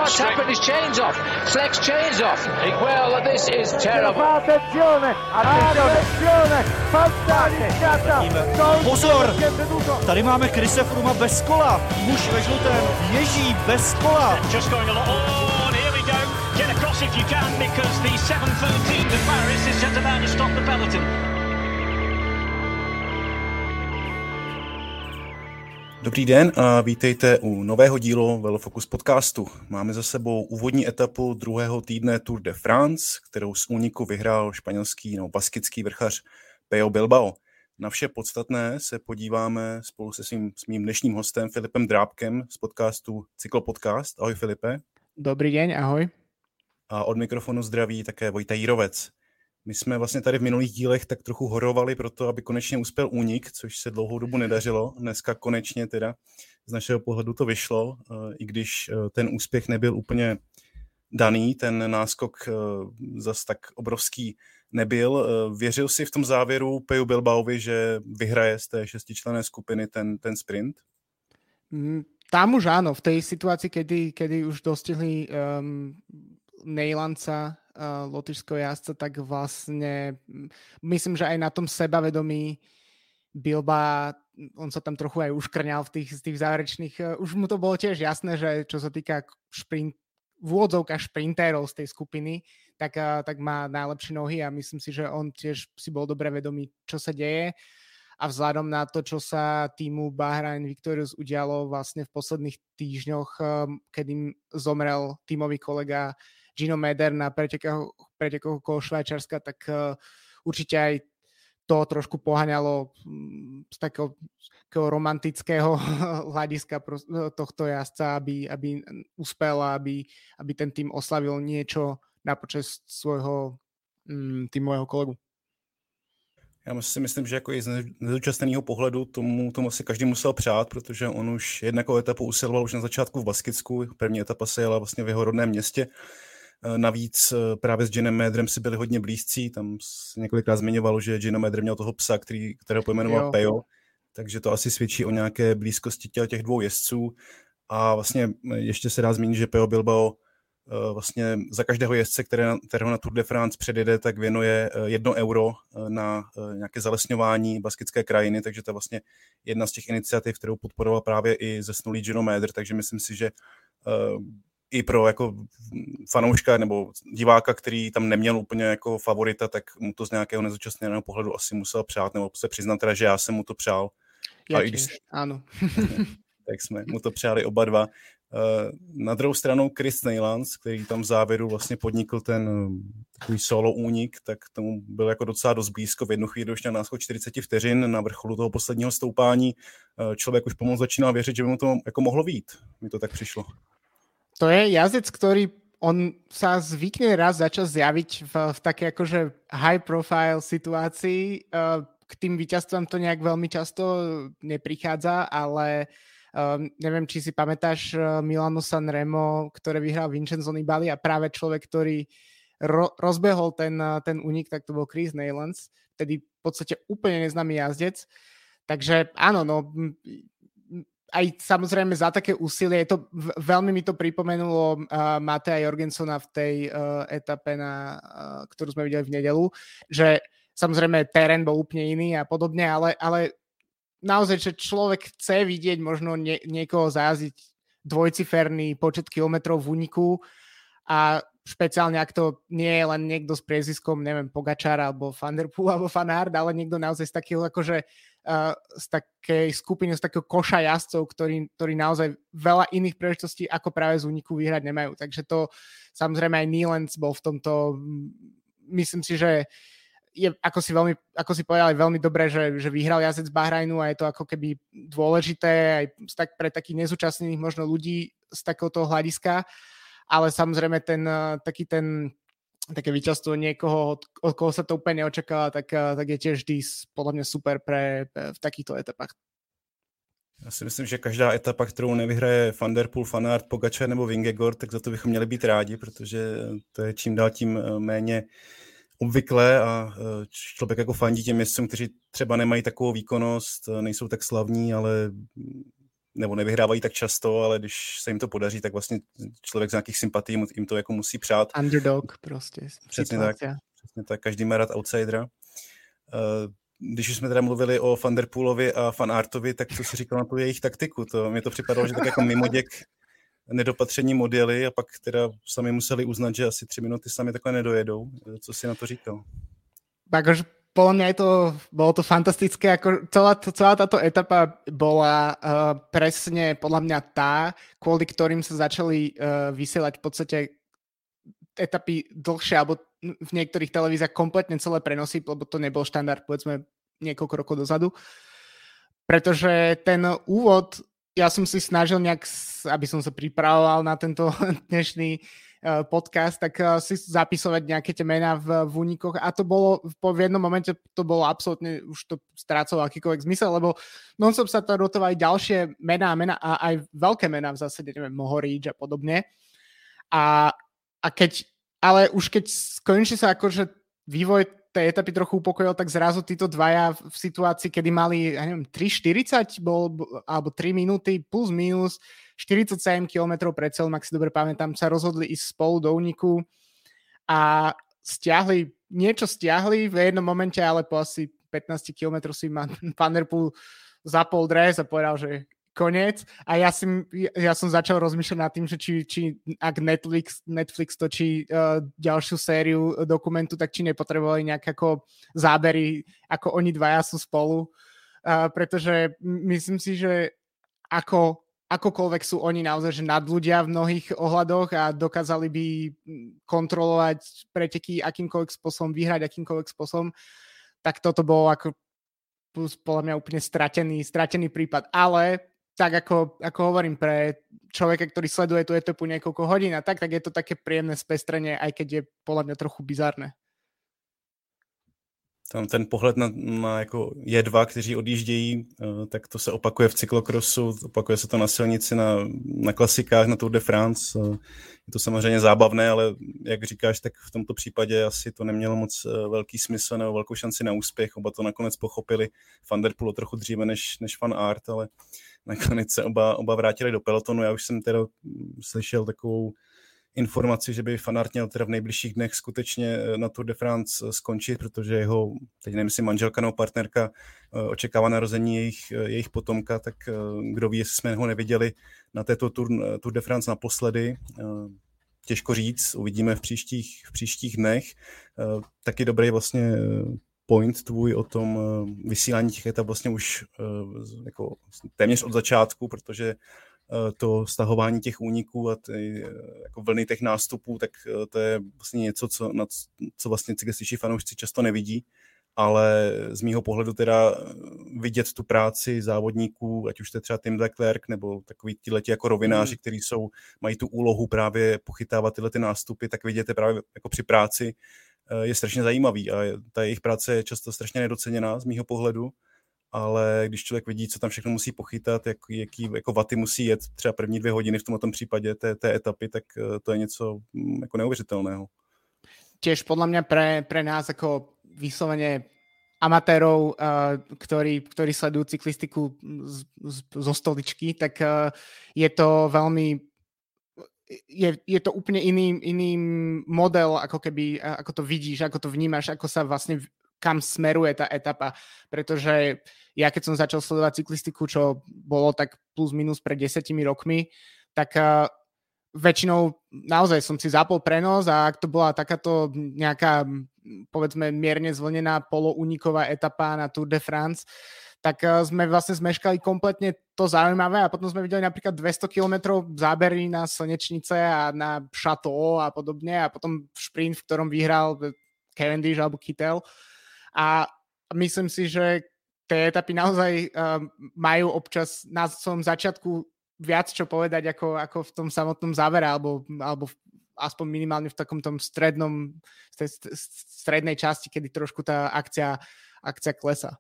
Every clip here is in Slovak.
what's happened? His chain's off. Fleck's chain's off. Well, this is terrible. Attenzione, fantasticata. Pozor, tady máme Chrise Frooma bez kola. Muž ve žlutém ježí bez kola. Just going along. Oh, and here we go. Get across if you can, because the 7:13 to Paris is just about to stop the peloton. Dobrý den a vítejte u nového dílu Velofocus podcastu. Máme za sebou úvodní etapu druhého týdne Tour de France, kterou z úniku vyhrál španělský nebo baskický vrchař Pello Bilbao. Na vše podstatné se podíváme spolu se svým dnešním hostem Filipem Drábkem z podcastu Cyklopodcast. Ahoj Filipe. Dobrý den, ahoj. A od mikrofonu zdraví také Vojta Jírovec. My jsme vlastně tady v minulých dílech tak trochu horovali pro to, aby konečně uspěl únik, což se dlouhou dobu nedařilo. Dneska konečně teda z našeho pohledu to vyšlo, i když ten úspěch nebyl úplně daný, ten náskok zas tak obrovský nebyl. Věřil jsi v tom závěru Pellu Bilbaovi, že vyhraje z té šestičlenné skupiny ten sprint? Tam už áno, v tej situácii, kedy už dostihli Nejlanca, lotyšského jazdca, tak vlastne myslím, že aj na tom sebavedomí Bilba, on sa tam trochu aj uškrňal v tých záverečných, už mu to bolo tiež jasné, že čo sa týka v úvodzovkách šprintérov z tej skupiny, tak má najlepšie nohy a myslím si, že on tiež si bol dobre vedomý, čo sa deje a vzhľadom na to, čo sa týmu Bahrain Victorious udialo vlastne v posledných týždňoch, kedy zomrel tímový kolega Gino Mäder na pretekoch okolo Švajčiarska, tak určite aj to trošku poháňalo z takého romantického hľadiska tohto jazdca, aby uspel a aby ten tým oslavil niečo na počesť svojho týmového kolegu. Já si myslím, že jako i z nezúčastněného pohledu tomu asi každý musel přát, protože on už jednakou etapu usiloval už na začátku v Baskicku. První etapa se jela vlastně v jeho rodném městě. Navíc právě s Ginem Mäderem si byli hodně blízcí, tam se několikrát zmiňovalo, že Gino Mäder měl toho psa, kterého pojmenoval Pello, takže to asi svědčí o nějaké blízkosti těch dvou jezdců. A vlastně ještě se dá zmínit, že Pello Bilbao vlastně za každého jezdce, kterého na Tour de France předjede, tak věnuje €1 na nějaké zalesňování baskické krajiny, takže to je vlastně jedna z těch iniciativ, kterou podporoval právě i zesnulý Gino Mäder, takže myslím si, že i pro jako fanouška nebo diváka, který tam neměl úplně jako favorita, tak mu to z nějakého nezúčastněného pohledu asi musel přát, nebo se přiznat teda, že já jsem mu to přál. Áno. Tak jsme mu to přáli oba dva. Na druhou stranu Chris Neylands, který tam v závěru vlastně podnikl ten takový solo únik, tak tomu byl jako docela dost blízko. V jednu chvíli už měl náskok 40 vteřin na vrcholu toho posledního stoupání. Člověk už pomalu začínal věřit, že by mu to jako mohlo vyjít. Mi to tak přišlo. To je jazdec, ktorý on sa zvykne raz za čas zjaviť v také akože high profile situácii. K tým víťazstvám to nejak veľmi často neprichádza, ale neviem, či si pamätáš Milano Sanremo, ktoré vyhral Vincenzo Nibali a práve človek, ktorý rozbehol ten únik, tak to bol Chris Neylands, tedy v podstate úplne neznámy jazdec. Takže áno, no aj samozrejme za také úsilie, veľmi mi to pripomenulo Mateja Jorgensona v tej etape, ktorú sme videli v nedeľu, že samozrejme terén bol úplne iný a podobne, ale naozaj, že človek chce vidieť možno niekoho zajazdiť dvojciferný počet kilometrov v úniku a špeciálne, ak to nie je len niekto s priezviskom, neviem, Pogačar alebo Van der Poel alebo Van Aert, ale niekto naozaj z takého akože z takej skupiny, z takého koša jazdcov, ktorí naozaj veľa iných príležitostí ako práve z úniku vyhrať nemajú. Takže to samozrejme aj Neylands bol v tomto, myslím si, že je, ako si povedal, veľmi dobré, že vyhral jazdec Bahrajnu a je to ako keby dôležité aj tak pre takých nezúčastnených možno ľudí z takéhoto hľadiska, ale samozrejme také víťazstvo niekoho, od koho sa to úplne neočakáva, tak je tiež vždy podľa mňa super v takýchto etapách. Já si myslím, že každá etapa, kterou nevyhraje Van der Poel, Van Aert, Pogačar nebo Vingegaard, tak za to bychom měli být rádi, protože to je čím dál tím méně obvyklé a člověk jako fandí těm jezdcům, kteří třeba nemají takovou výkonnost, nejsou tak slavní, ale nebo nevyhrávají tak často, ale když se jim to podaří, tak vlastně člověk z nějakých sympatí jim to jako musí přát. Underdog prostě. Přesně tak, každý má rád outsidera. Když už jsme teda mluvili o Van der Poelovi a Van Aertovi, tak co si říkal na tu jejich taktiku? Mně to připadalo, že tak jako mimoděk nedopatření modely a pak teda sami museli uznat, že asi 3 minuty sami takhle nedojedou. Co si na to říkal? Takže podľa mňa bolo to fantastické, ako celá táto etapa bola presne podľa mňa tá, kvôli ktorým sa začali vysielať v podstate etapy dlhšie, alebo v niektorých televíziách kompletne celé prenosy, lebo to nebol štandard, povedzme, niekoľko rokov dozadu. Pretože ten úvod, ja som si snažil nejak, aby som sa pripravoval na tento dnešný podcast, tak si zapisovať nejaké tie mená v únikoch a to bolo, v jednom momente to bolo absolútne, už to strácalo akýkoľvek zmysel, lebo non-stop sa to rotovali ďalšie mená a aj veľké mená v zásade, neviem, Mohorič a podobne. Ale už keď skončí sa akože vývoj tej etapy trochu upokojil, tak zrazu títo dvaja v situácii, kedy mali, ja neviem, 3:40 alebo 3 minúty plus minus 47 km pred cieľom, ak si dobre pamätám, sa rozhodli ísť spolu do úniku a stiahli v jednom momente, ale po asi 15 km si Van der Poel zapol dres a povedal, že koniec. A ja som začal rozmýšľať nad tým, že či ak Netflix točí ďalšiu sériu dokumentu, tak či nepotrebovali nejaké ako zábery, ako oni dvaja sú spolu. Pretože myslím si, že akokoľvek sú oni naozaj že nadľudia v mnohých ohľadoch a dokázali by kontrolovať preteky akýmkoľvek spôsobom, vyhrať akýmkoľvek spôsobom, tak toto bolo ako podľa mňa úplne stratený prípad. Ale tak ako hovorím, pre človeka, ktorý sleduje tú etapu niekoľko hodín a tak je to také príjemné spestrenie, aj keď je podľa mňa trochu bizarné. Tam ten pohled na jako J2, kteří odjíždějí, tak to se opakuje v cyklokrosu, opakuje se to na silnici, na klasikách, na Tour de France. Je to samozřejmě zábavné, ale jak říkáš, tak v tomto případě asi to nemělo moc velký smysl nebo velkou šanci na úspěch. Oba to nakonec pochopili. Van der Poel trochu dříve než Van Aert, ale nakonec se oba vrátili do pelotonu. Já už jsem teda slyšel takovou informaci, že by Van Aert měl teda v nejbližších dnech skutečně na Tour de France skončit, protože jeho, teď nevím, jestli manželka nebo partnerka očekává narození jejich potomka, tak kdo ví, jestli jsme ho neviděli na této Tour de France naposledy. Těžko říct, uvidíme v příštích dnech. Taky dobrý vlastně point tvůj o tom vysílání těch etap vlastně už jako téměř od začátku, protože to stahování těch úniků a ty jako vlny těch nástupů, tak to je vlastně něco, co vlastně cyklističtí fanoušci často nevidí, ale z mýho pohledu teda vidět tu práci závodníků, ať už to je třeba Tim de Klerk, nebo takový tyhleti jako rovináři, kteří mají tu úlohu právě pochytávat tyhle ty nástupy, tak vidět právě jako při práci je strašně zajímavý a ta jejich práce je často strašně nedoceněná z mýho pohledu. Ale když člověk vidí, co tam všechno musí pochytat, jaký jako vaty musí jet třeba první 2 hodiny v tomto případě té etapy, tak to je něco jako neuvěřitelného. Tiež podľa mňa pre nás ako vyslovene amatérov, ktorí sledujú cyklistiku zo stoličky, tak je to veľmi je to úplne iný model, ako keby, ako to vidíš, ako to vnímaš, ako sa vlastne kam smeruje tá etapa, pretože ja keď som začal sledovať cyklistiku, čo bolo tak plus minus pred 10 rokmi, tak väčšinou naozaj som si zapol prenos a ak to bola takáto nejaká, povedzme, mierne zvlnená polouniková etapa na Tour de France, tak sme vlastne zmeškali kompletne to zaujímavé a potom sme videli napríklad 200 km zábery na Slnečnice a na Chateau a podobne a potom šprint, v ktorom vyhral Cavendish alebo Kittel. A myslím si, že tie etapy naozaj majú občas na svojom začiatku viac čo povedať ako v tom samotnom závere alebo aspoň minimálne v takom tom strednej časti, kedy trošku tá akcia klesá.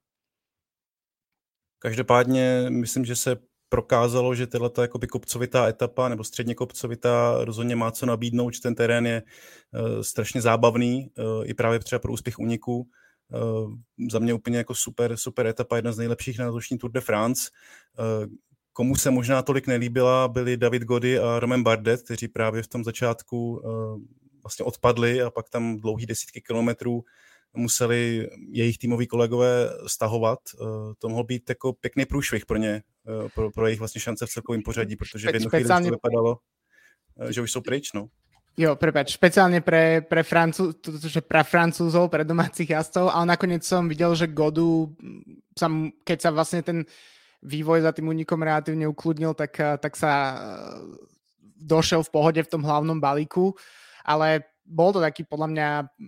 Každopádně myslím, že se prokázalo, že tato jakoby kopcovitá etapa nebo středně kopcovitá rozhodně má co nabídnout, že ten terén je strašně zábavný i právě třeba pro úspěch úniku. Za mě úplně jako super etapa, jedna z nejlepších na letošní Tour de France. komu se možná tolik nelíbila, byli David Gody a Romain Bardet, kteří právě v tom začátku vlastně odpadli a pak tam dlouhý desítky kilometrů museli jejich týmoví kolegové stahovat. To mohl být jako pěkný průšvih pro ně, pro jejich vlastně šance v celkovém pořadí, protože v jednu chvíli to vypadalo, že už jsou pryč, no. Jo, prepáč, špeciálne pre Francúzov, pre domácich jazdcov, ale nakoniec som videl, že Godu, keď sa vlastne ten vývoj za tým únikom relatívne ukludnil, tak sa došiel v pohode v tom hlavnom balíku, ale bol to taký podľa mňa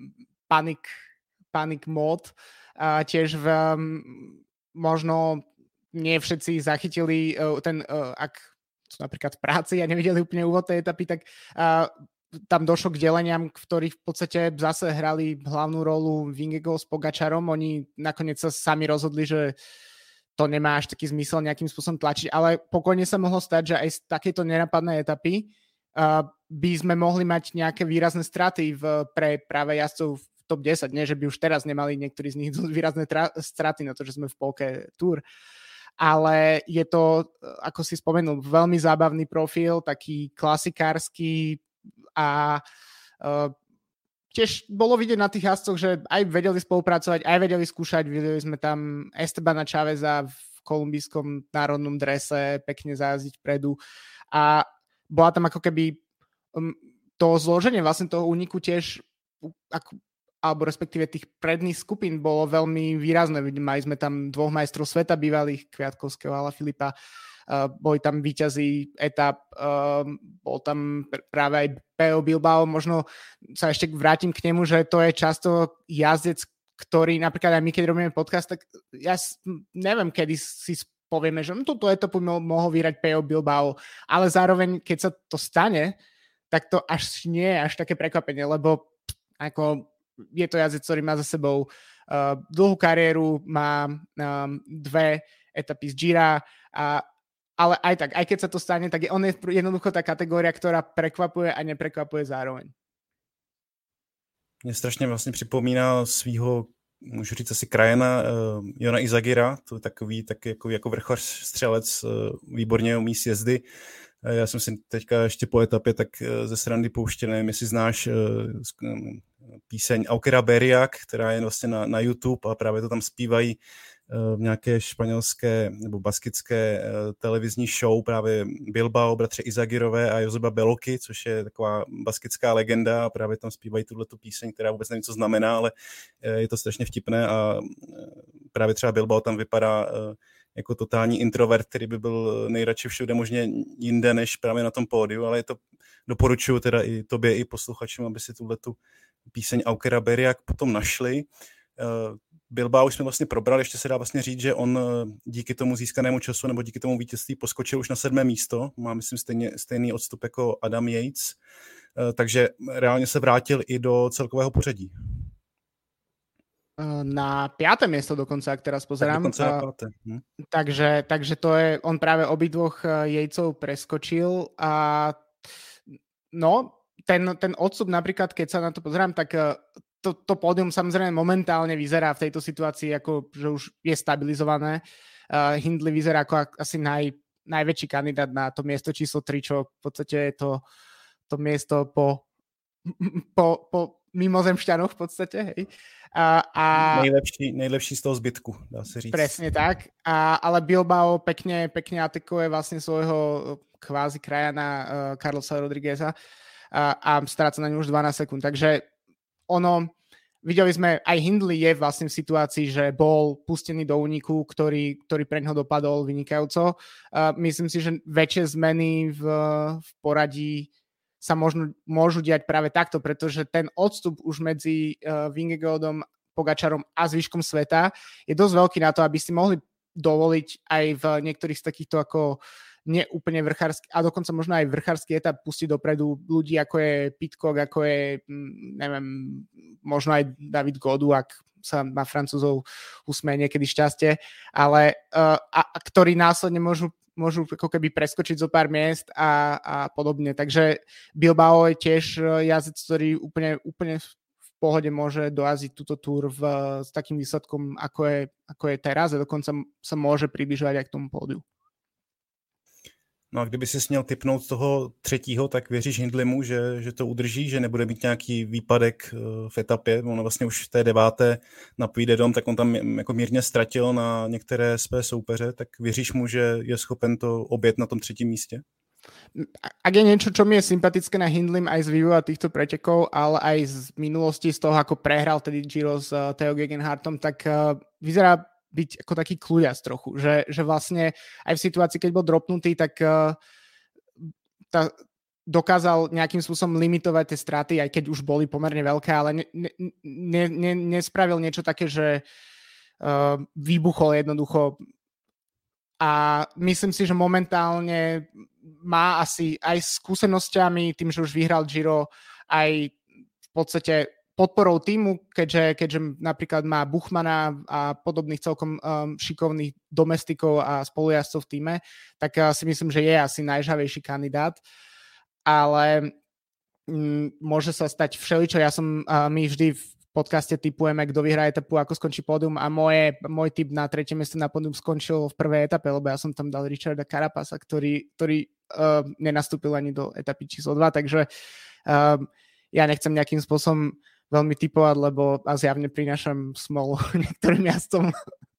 panic mode. Tiež možno nie všetci zachytili ak sú napríklad v práci a nevideli úplne úvod tej etapy, tak tam došlo k deleniam, v ktorých v podstate zase hrali hlavnú rolu Vingegaard s Pogačarom. Oni nakoniec sa sami rozhodli, že to nemá až taký zmysel nejakým spôsobom tlačiť, ale pokojne sa mohlo stať, že aj z takéto nenapadnej etapy by sme mohli mať nejaké výrazné straty pre práve jazdcov v top 10. Nie, že by už teraz nemali niektorí z nich výrazné straty na to, že sme v polke Tour. Ale je to, ako si spomenul, veľmi zábavný profil, taký klasikársky a tiež bolo vidieť na tých jazdcoch, že aj vedeli spolupracovať, aj vedeli skúšať. Videli sme tam Estebana Chaveza v kolumbijskom národnom drese pekne zajazdiť vpredu a bola tam ako keby to zloženie vlastne toho úniku tiež alebo respektíve tých predných skupín bolo veľmi výrazné. Mali sme tam 2 majstrov sveta bývalých, Kviatkovského a Alaphilippa. Boli tam víťazi etap, bol tam práve aj Pello Bilbao. Možno sa ešte vrátim k nemu, že to je často jazdec, ktorý napríklad aj my, keď robíme podcast, tak ja neviem, kedy si povieme, že túto etapu mohol vyhrať Pello Bilbao, ale zároveň, keď sa to stane, tak to až nie je až také prekvapenie, lebo ako je to jazdec, ktorý má za sebou dlhú kariéru, má 2 etapy z Gira, ale aj tak, aj keď sa to stane, tak on je jednoducho tá kategória, ktorá prekvapuje a neprekvapuje zároveň. Mě strašně vlastně připomíná svýho, můžu říct asi krajana, Jona Izagira, to je takový jako vrchař střelec, výborně umí sjezdy. Já jsem si teďka ještě po etapě tak ze srandy pouštěl, nevím, jestli znáš píseň Aukera Beriak, která je vlastně na YouTube a právě to tam zpívají v nějaké španělské nebo baskické televizní show právě Bilbao, bratře Izagirové a Joseba Beloky, což je taková baskická legenda a právě tam zpívají tuhletu píseň, která vůbec nevím, co znamená, ale je to strašně vtipné a právě třeba Bilbao tam vypadá jako totální introvert, který by byl nejradši všude možně jinde než právě na tom pódiu, ale je to, doporučuji teda i tobě, i posluchačům, aby si tuhletu píseň Aukera Beriak potom našli. Bilbao už jsme vlastně probrali, ještě se dá vlastně říct, že on díky tomu získanému času nebo díky tomu vítězství poskočil už na 7. místo, má myslím stejný odstup jako Adam Yates, takže reálně se vrátil i do celkového pořadí. Na 5. miesto dokonca, ak teraz pozerám. Dokonca na 5. Takže to je, on práve obidvoch Yatesov preskočil a no, ten odstup napríklad, keď sa na to pozerám, tak to pódium samozrejme momentálne vyzerá v tejto situácii ako, že už je stabilizované. Hindley vyzerá ako asi najväčší kandidát na to miesto číslo 3, čo v podstate je to miesto po mimozemšťanoch v podstate, hej. Nejlepší z toho zbytku, dá se říct. Presne tak, ale Bilbao pekne atakuje vlastne svojho kvázi krajana Carlosa Rodrigueza a stráca na ňu už 12 sekúnd, takže videli sme, aj Hindley je vlastne v situácii, že bol pustený do úniku, ktorý pre ňoho dopadol vynikajúco. Myslím si, že väčšie zmeny v poradí sa môžu diať práve takto, pretože ten odstup už medzi Vingegaardom, Pogačarom a zvyškom sveta je dosť veľký na to, aby si mohli dovoliť aj v niektorých z takýchto ako neúplne vrchárskych, a dokonca možno aj vrchársky etap pustiť dopredu ľudí, ako je Pidcock, ako je, neviem, možno aj David Godu, ak sa na Francúzov usmeje niekedy šťastie, ale ktorí následne môžu ako keby preskočiť zo pár miest a podobne. Takže Bilbao je tiež jazdec, ktorý úplne v pohode môže dojaziť túto túr s takým výsledkom, ako je teraz a dokonca sa môže približovať aj k tomu pódiu. No a kdyby si směl tipnout toho třetího, tak věříš Hindleymu, že to udrží, že nebude mít nějaký výpadek v etapě? On vlastně už v té 9. na Puy de Dôme, tak on tam jako mírně ztratil na některé své soupeře, tak věříš mu, že je schopen to objet na tom 3. místě? Ak je niečo, čo mi je sympatické na Hindleym aj z vývoja týchto pretekov, ale aj z minulosti, z toho, ako prehral tedy Giro s Theo Gegenhardtom, tak vyzerá byť ako taký kľuďac trochu, že vlastne aj v situácii, keď bol dropnutý, tak dokázal nejakým spôsobom limitovať tie straty, aj keď už boli pomerne veľké, ale nespravil niečo také, že vybuchol jednoducho. A myslím si, že momentálne má asi aj skúsenosťami, tým, že už vyhral Giro, aj v podstate podporou týmu, keďže napríklad má Buchmana a podobných celkom šikovných domestikov a spolujazdcov v týme, tak si myslím, že je asi najžhavejší kandidát. Ale môže sa stať všeličo. My vždy v podcaste tipujeme, kto vyhrá etapu, ako skončí pódium a môj tip na 3. miesto na pódium skončil v prvej etape, lebo ja som tam dal Richarda Carapasa, ktorý nenastúpil ani do etapy číslo 2, takže ja nechcem nejakým spôsobom veľmi tipovať, lebo zjavne prinášam smolu niektorým jazdcom.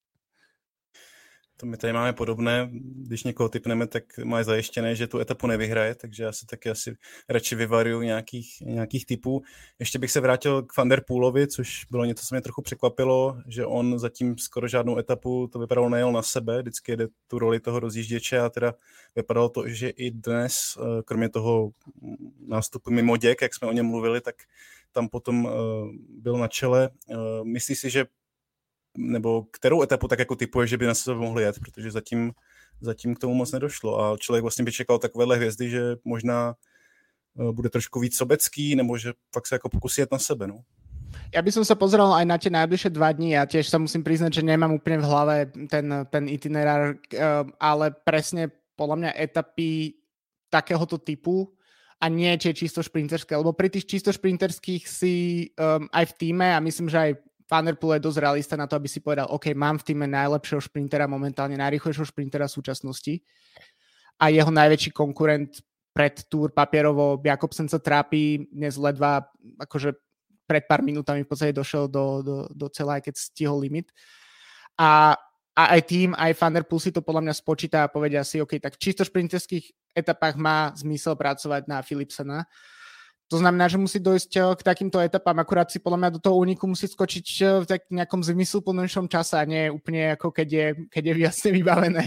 To my tady máme podobné, když někoho tipneme, tak má zajištěné, že tu etapu nevyhraje, takže já se taky asi radši vyvaruju nějakých typů. Ještě bych se vrátil k Van der Poelovi, což bylo něco, co mě trochu překvapilo, že on zatím skoro žádnou etapu, to vypadalo, nejel na sebe, vždycky jede tu roli toho rozjížděče a teda vypadalo to, že i dnes, kromě toho nástupu mimo děk, jak jsme o něm mluvili, tak tam potom byl na čele. Myslíš si, že nebo kterou etapu tak jako typuje, že by na sebe mohli jet, protože zatím k tomu moc nedošlo a člověk vlastně by čekal takovéhle hvězdy, že možná bude trošku víc sobecký, nebo že fakt se jako pokusí jet na sebe, no. Ja by som sa pozeral aj na tie najbližšie 2 dní a tiež sa musím priznať, že nemám úplne v hlave ten itinerár, ale presne podľa mňa etapy takéhoto typu a nie tie čisto šprinterské, lebo pri tých čisto šprinterských si aj v týme a myslím, že aj Van der Poel je dosť realista na to, aby si povedal, OK, mám v týme najlepšieho šprintera momentálne, najrýchlejšieho šprintera v súčasnosti a jeho najväčší konkurent pred Tour papierovo Jakobsen sa trápi dnes ledva, akože pred pár minútami v podstate došiel do celá, keď stihol limit. A aj tým, aj Van der Poel si to podľa mňa spočíta a povedia si, OK, tak v čisto šprinterských etapách má zmysel pracovať na Philipsena. To znamená, že musí dojsť k takýmto etapám, akurát si podľa mňa do toho úniku musí skočiť v nejakom zmysluplnejšom čase a nie úplne ako keď je jasne vybavené.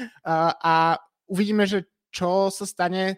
A uvidíme, že čo sa stane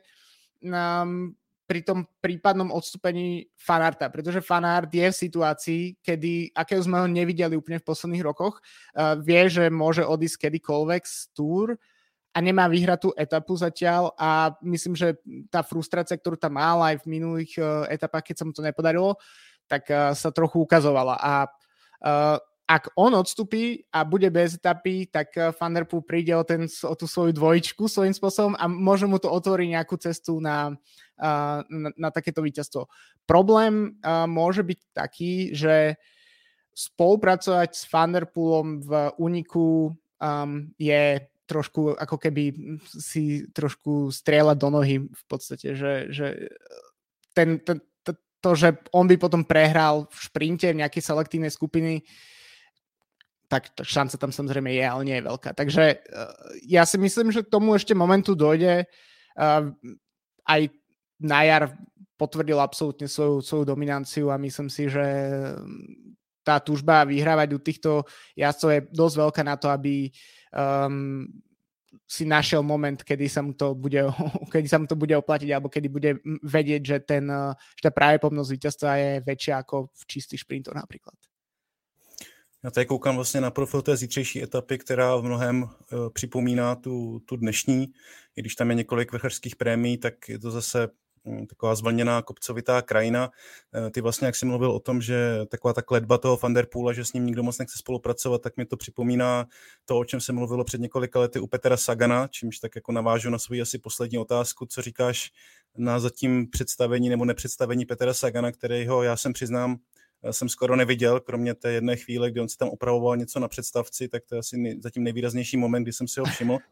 pri tom prípadnom odstúpení Van Aerta, pretože Van Aert je v situácii, akého sme ho nevideli úplne v posledných rokoch. Vie, že môže odísť kedykoľvek z Tour a nemá vyhratú etapu zatiaľ a myslím, že tá frustrácia, ktorú tam mal aj v minulých etapách, keď sa mu to nepodarilo, tak sa trochu ukazovala. A ak on odstúpi a bude bez etapy, tak Van der Poel príde o tú svoju dvojičku svojím spôsobom a môže mu to otvoriť nejakú cestu na takéto víťazstvo. Problém môže byť taký, že spolupracovať s Van der Poelom v úniku je trošku, ako keby si trošku strieľať do nohy v podstate, že že on by potom prehral v šprinte v nejakej selektívnej skupiny, tak šanca tam samozrejme je, ale nie je veľká. Takže ja si myslím, že k tomu ešte momentu dojde. Aj na jar potvrdil absolútne svoju dominanciu a myslím si, že tá túžba vyhrávať u týchto jazdcov je dosť veľká na to, aby si našiel moment, kedy sa mu to bude oplatiť alebo kedy bude vedieť, že tá pravdepodobnosť víťazstva je väčšia ako v čistých šprintoch napríklad. Já tady koukám vlastně na profil té zítřejší etapy, která v mnohem připomíná tu dnešní. I když tam je několik vrchařských prémií, tak je to zase taková zvlněná kopcovitá krajina. Ty vlastně, jak jsi mluvil o tom, že taková ta kletba toho Van der Poela, že s ním nikdo moc nechce spolupracovat, tak mi to připomíná to, o čem se mluvilo před několika lety u Petera Sagana, čímž tak jako navážu na svou asi poslední otázku, co říkáš na zatím představení nebo nepředstavení Petera Sagana, kterého já jsem skoro neviděl, kromě té jedné chvíle, kdy on si tam opravoval něco na představci, tak to je asi zatím nejvýraznější moment, kdy jsem si ho všiml.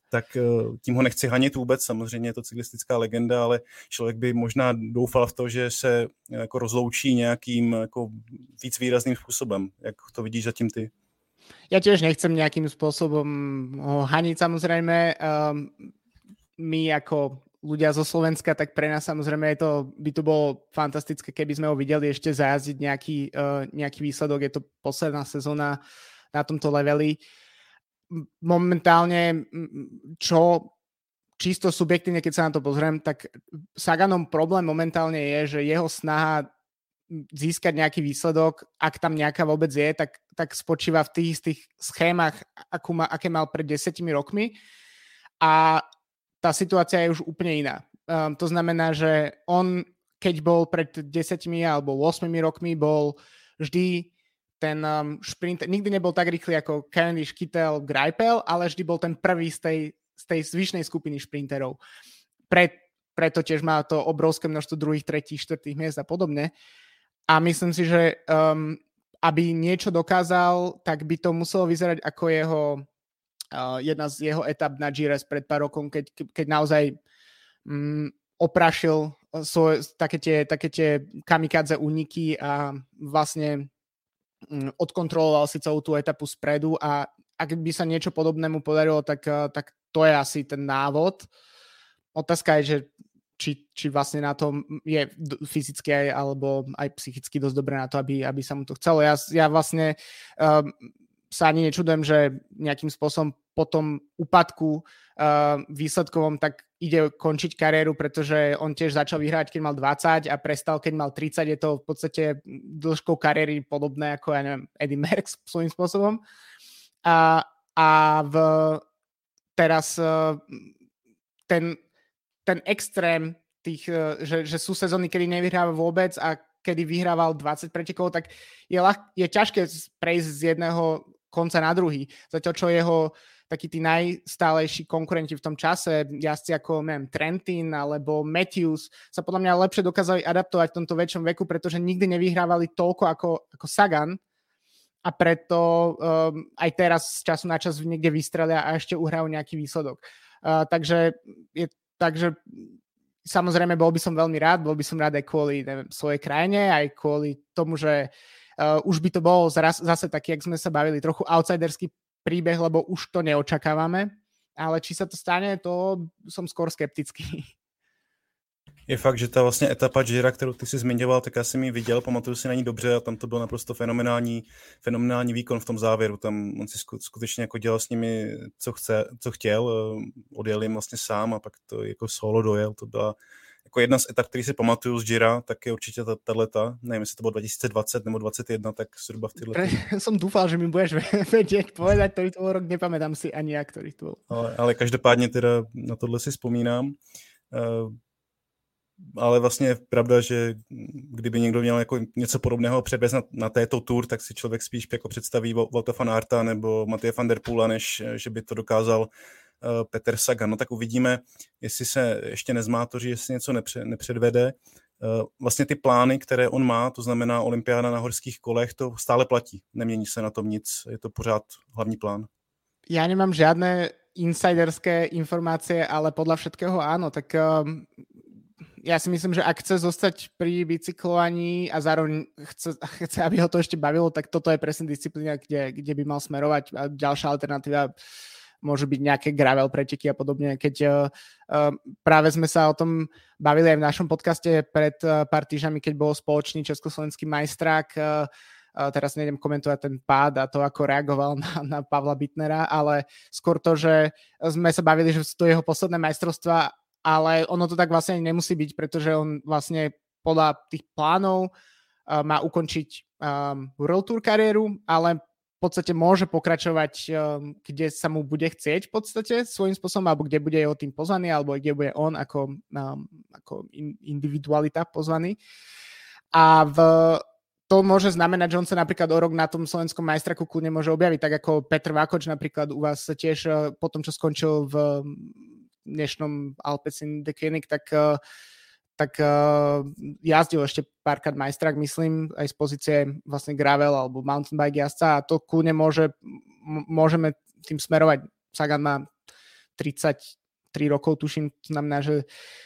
tak tím ho nechci hanit vůbec, samozřejmě je to cyklistická legenda, ale člověk by možná doufal v to, že se jako rozloučí nějakým jako víc výrazným způsobem. Jak to vidíš zatím ty? Ja tiež nechcem nejakým spôsobom ho haniť, samozrejme. My ako ľudia zo Slovenska, tak pre nás samozrejme by to bolo fantastické, keby sme ho videli ešte zajazdiť nejaký výsledok. Je to posledná sezóna na tomto leveli. Momentálne, čo čisto subjektívne, keď sa na to pozriem, tak Saganom problém momentálne je, že jeho snaha získať nejaký výsledok, ak tam nejaká vôbec je, tak spočíva v tých istých schémach, aké mal pred 10 rokmi. A tá situácia je už úplne iná. To znamená, že on, keď bol pred 10 alebo 8 rokmi, bol vždy ten šprint, nikdy nebol tak rýchly ako Cavendish, Kittel, Greipel, ale vždy bol ten prvý z tej zvyšnej skupiny šprinterov. Preto tiež má to obrovské množstvo druhých, tretích, štvrtých miest a podobne. A myslím si, že aby niečo dokázal, tak by to muselo vyzerať ako jedna z jeho etap na Gires pred pár rokom, keď naozaj oprašil také tie kamikadze úniky a vlastne odkontroloval si celú tú etapu spredu a ak by sa niečo podobnému podarilo, tak to je asi ten návod. Otázka je, že či vlastne na tom je fyzicky alebo aj psychicky dosť dobré na to, aby sa mu to chcelo. Ja vlastne sa ani nečudujem, že nejakým spôsobom po tom úpadku výsledkovom tak ide končiť kariéru, pretože on tiež začal vyhrávať, keď mal 20 a prestal, keď mal 30. Je to v podstate dĺžkou kariéry podobné ako, ja neviem, Eddy Merckx svojím spôsobom. Teraz ten extrém tých, že sú sezóny, kedy nevyhráva vôbec a kedy vyhrával 20 pretekov, tak je ťažké prejsť z jedného konca na druhý. Zatiaľ, čo jeho takí tí najstálejší konkurenti v tom čase, jazdci ako Trentin alebo Matthews, sa podľa mňa lepšie dokázali adaptovať v tomto väčšom veku, pretože nikdy nevyhrávali toľko ako Sagan a preto aj teraz z času na čas niekde vystrelia a ešte uhrajú nejaký výsledok. Takže samozrejme bol by som veľmi rád, aj kvôli svojej krajine, aj kvôli tomu, že už by to bol zase taký, jak sme sa bavili, trochu outsiderský príbeh, lebo už to neočakávame, ale či sa to stane, to som skôr skeptický. Je fakt, že ta vlastně etapa Gira, kterou ty jsi zmiňoval, tak já jsem ji viděl, pamatuju si na ní dobře a tam to byl naprosto fenomenální výkon v tom závěru. Tam on si skutečně jako dělal s nimi, co chtěl, odjel jim vlastně sám a pak to jako solo dojel. To byla jako jedna z etap, který si pamatuju z Gira, tak je určitě tato, nevím, jestli to bylo 2020 nebo 2021, tak zhruba v této. Som dúfal, že mi budeš vedieť povedať, ktorý to bol rok, nepamätám si ani ja, ktorý to bol. Ale každopádně teda na tohle si vzpomínám. Ale vlastně je pravda, že kdyby někdo měl jako něco podobného předvést na této tour, tak si člověk spíš jako představí Wouta van Aerta nebo Mathieu van der Poola, než že by to dokázal Peter Sagan. No tak uvidíme, jestli se ještě nezmátoří, jestli něco nepředvede. Vlastně ty plány, které on má, to znamená olympiáda na horských kolech, to stále platí. Nemění se na tom nic, je to pořád hlavní plán. Ja nemám žiadne insiderské informácie, ale podľa všetkého áno, tak ja si myslím, že ak chce zostať pri bicyklovaní a zároveň chce, aby ho to ešte bavilo, tak toto je presne disciplína, kde by mal smerovať. A ďalšia alternatíva môžu byť nejaké gravel preteky a podobne. Keď práve sme sa o tom bavili aj v našom podcaste pred pár týždňami, keď bol spoločný československý majstrák. Teraz nejdem komentovať ten pád a to, ako reagoval na Pavla Bittnera, ale skôr to, že sme sa bavili, že sú to jeho posledné majstrovstvá, ale ono to tak vlastne nemusí byť, pretože on vlastne podľa tých plánov má ukončiť World Tour kariéru, ale v podstate môže pokračovať, kde sa mu bude chcieť v podstate svojím spôsobom, alebo kde bude jeho tým pozvaný, alebo kde bude on ako individualita pozvaný. A to môže znamenať, že on sa napríklad o rok na tom slovenskom majstraku kľudne môže objaviť, tak ako Petr Vakoč napríklad u vás tiež po tom, čo skončil v dnešnom Alpecin de Koenig, tak jazdil ešte párkrát majstrák, myslím, aj z pozície vlastne gravel alebo mountain bike jazdca a to kľudne môžeme tým smerovať. Sagan má 33 rokov, tuším, znamená, že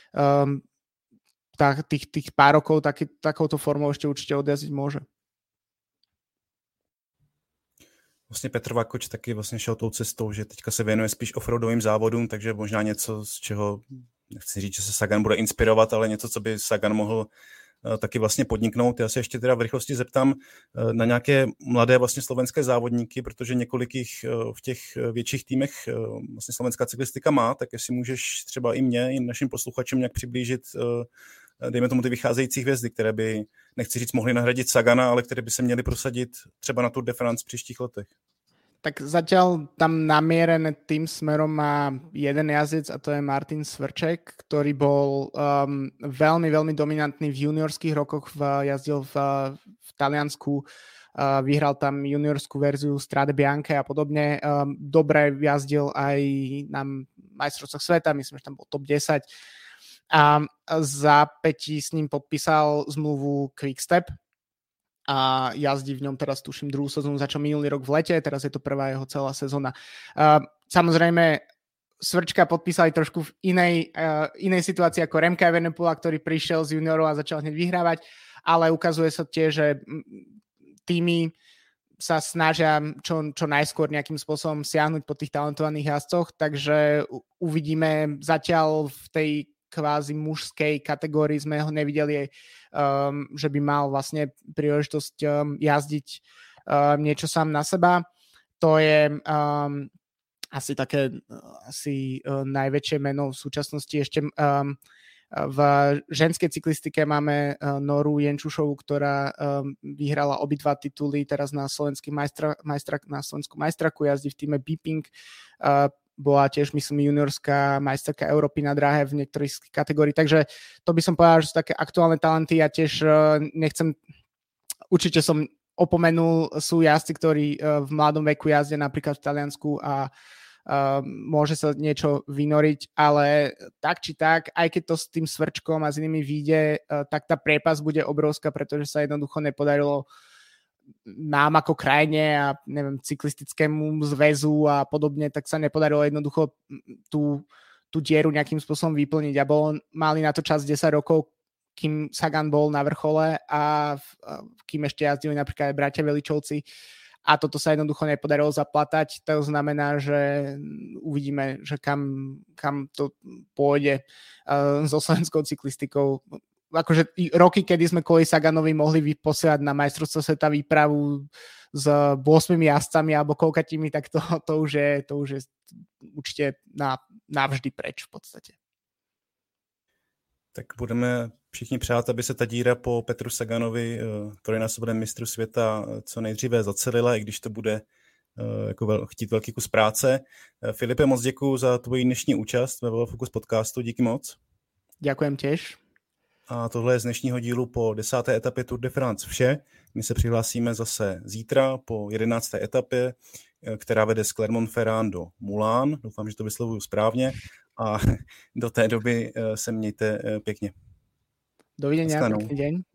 tých pár rokov takouto formou ešte určite odjazdiť môže. Vlastně Petr Vakoč taky vlastně šel tou cestou, že teďka se věnuje spíš offroadovým závodům, takže možná něco, z čeho, nechci říct, že se Sagan bude inspirovat, ale něco, co by Sagan mohl taky vlastně podniknout. Já se ještě teda v rychlosti zeptám na nějaké mladé vlastně slovenské závodníky, protože několik jich v těch větších týmech vlastně slovenská cyklistika má, tak jestli můžeš třeba i mě, i našim posluchačům nějak přiblížit, dejme tomu ty vycházející hvězdy, které by, nechci říct, mohly nahradit Sagana, ale které by se měly prosadit třeba na Tour de France v příštích letech. Tak zatiaľ tam namierené tým smerom má jeden jazdec a to je Martin Svrček, ktorý bol veľmi, veľmi dominantný v juniorských rokoch, jazdil v Taliansku, vyhral tam juniorskú verziu Strade Bianche a podobne. Dobre jazdil aj na majstrovstvách sveta, myslím, že tam bol top 10. A za pätí s ním podpísal zmluvu Quickstep a jazdí v ňom teraz, tuším, druhú sezónu, začal minulý rok v lete, teraz je to prvá jeho celá sezóna. Samozrejme, Svrčka podpísali trošku v inej situácii ako Remka Evenepoela, ktorý prišiel z juniorov a začal hneď vyhrávať, ale ukazuje sa tiež, že týmy sa snažia čo najskôr nejakým spôsobom siahnuť po tých talentovaných jazdcoch, takže uvidíme. Zatiaľ v tej kvázi mužskej kategórii sme ho nevideli, že by mal vlastne príležitosť jazdiť niečo sám na seba. To je asi najväčšie meno v súčasnosti. Ešte v ženskej cyklistike máme Noru Jenčušovu, ktorá vyhrala obidva tituly teraz na slovenskom majstraku, jazdí v týme Beeping. Bola tiež, myslím, juniorská majsterka Európy na dráhe v niektorých kategórií, takže to by som povedal, že sú také aktuálne talenty. Ja tiež určite som opomenul, sú jazdci, ktorí v mladom veku jazdia napríklad v Taliansku a môže sa niečo vynoriť, ale tak či tak, aj keď to s tým Svrčkom a s inými vyjde, tak tá priepas bude obrovská, pretože sa jednoducho nepodarilo nám ako krajine a neviem, cyklistickému zväzu a podobne, tak sa nepodarilo jednoducho tú dieru nejakým spôsobom vyplniť a mali na to čas 10 rokov, kým Sagan bol na vrchole a kým ešte jazdili napríklad aj bratia Veličovci a toto sa jednoducho nepodarilo zaplatať. To znamená, že uvidíme, že kam to pôjde so slovenskou cyklistikou. Akože roky, kedy sme kvôli Saganovi mohli posielať na majstrovstvo sveta výpravu s 8 jazdcami alebo koľkatými, tak to už je určite navždy preč v podstate. Tak budeme všichni přát, aby se ta díra po Petru Saganovi, trojnásobném mistru světa, co nejdříve zacelila, i když to bude jako chtít velký kus práce. Filipe, moc děkuju za tvoji dnešní účast ve Velofocus podcastu. Díky moc. Ďakujem tiež. A tohle je z dnešního dílu po 10. etapě Tour de France vše. My se přihlásíme zase zítra po 11. etapě, která vede z Clermont-Ferrand do Moulins. Doufám, že to vyslovuju správně. A do té doby se mějte pěkně. Dovidenia, pekný deň.